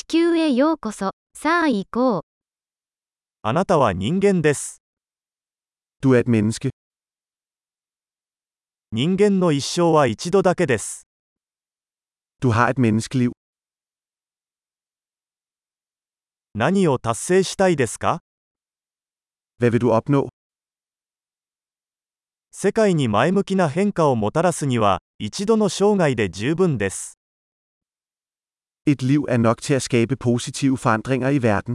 球へようこそ。さあ行こう。 あなたは人間です。 Du er et menneske. 人間の一生は一度だけです。 Du har et menneskeliv. 何を達成したいですか？ Hvad vil du opnå? 世界に前向きな変化をもたらすには、一度の生涯で十分です。 Et liv er nok til at skabe positive forandringer i verden.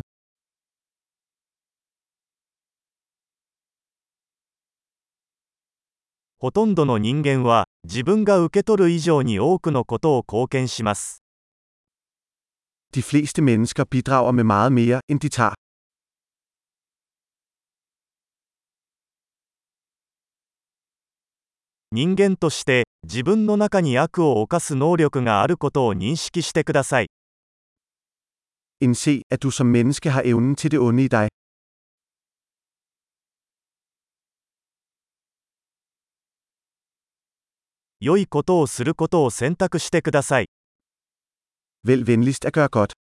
ほとんどの人間は、自分が受け取る以上に多くのことを貢献します。 De fleste mennesker bidrager med meget mere, end de tager. 人間として、自分の中に悪を犯す能力があることを認識してください。 Indse, at du som menneske har evnen til det onde i dig. 良いことをすることを選択してください。 Vælg venligst at gøre godt.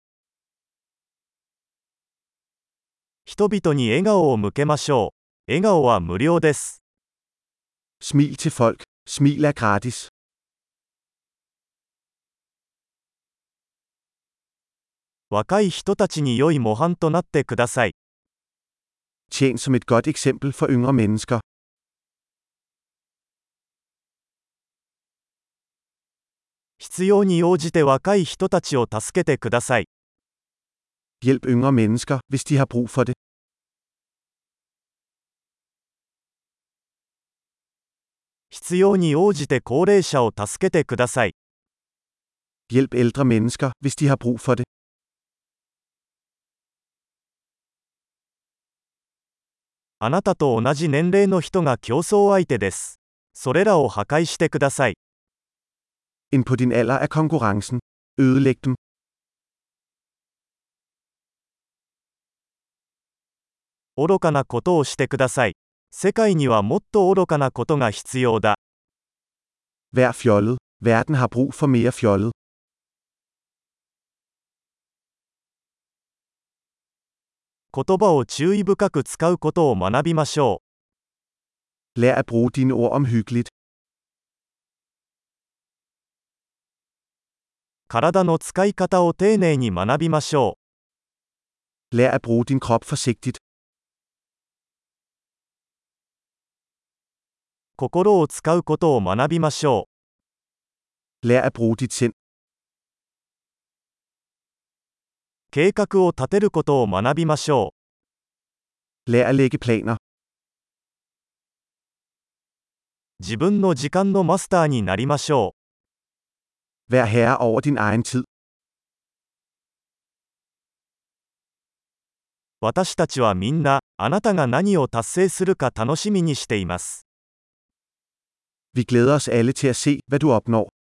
人々に笑顔を向けましょう。笑顔は無料です。 Smil til folk. Smil er gratis. 若い人たちに良い模範となってください。 Tjen som et godt eksempel for yngre mennesker. 必要に応じて若い人たちを助けてください。 Hjælp yngre mennesker, hvis de har brug for det. 必要に応じて高齢者を助けてください。 Hjælp ældre mennesker, hvis de har brug for det. あなたと同じ年齢の人が競争相手です。それらを破壊してください。 En på din alder er konkurrencen. Ødelæg dem. 愚かなことをしてください。世界にはもっと愚かなことが必要だ。 Vær fjollet. Verden har brug for mere fjollet. 言葉を注意深く使うことを学びましょう。 Lær at bruge dine ord omhyggeligt. 体の使い方を丁寧に学びましょう。 Lær at bruge din krop forsigtigt. 心を使うことを学びましょう。 Lær at bruge dit sind. 計画を立てることを学びましょう。 Lær at lægge planer. 自分の時間のマスターになりましょう。 Vær herre over din egen tid. 私たちはみんな、あなたが何を達成するか楽しみにしています。 Vi glæder os alle til at se, hvad du opnår.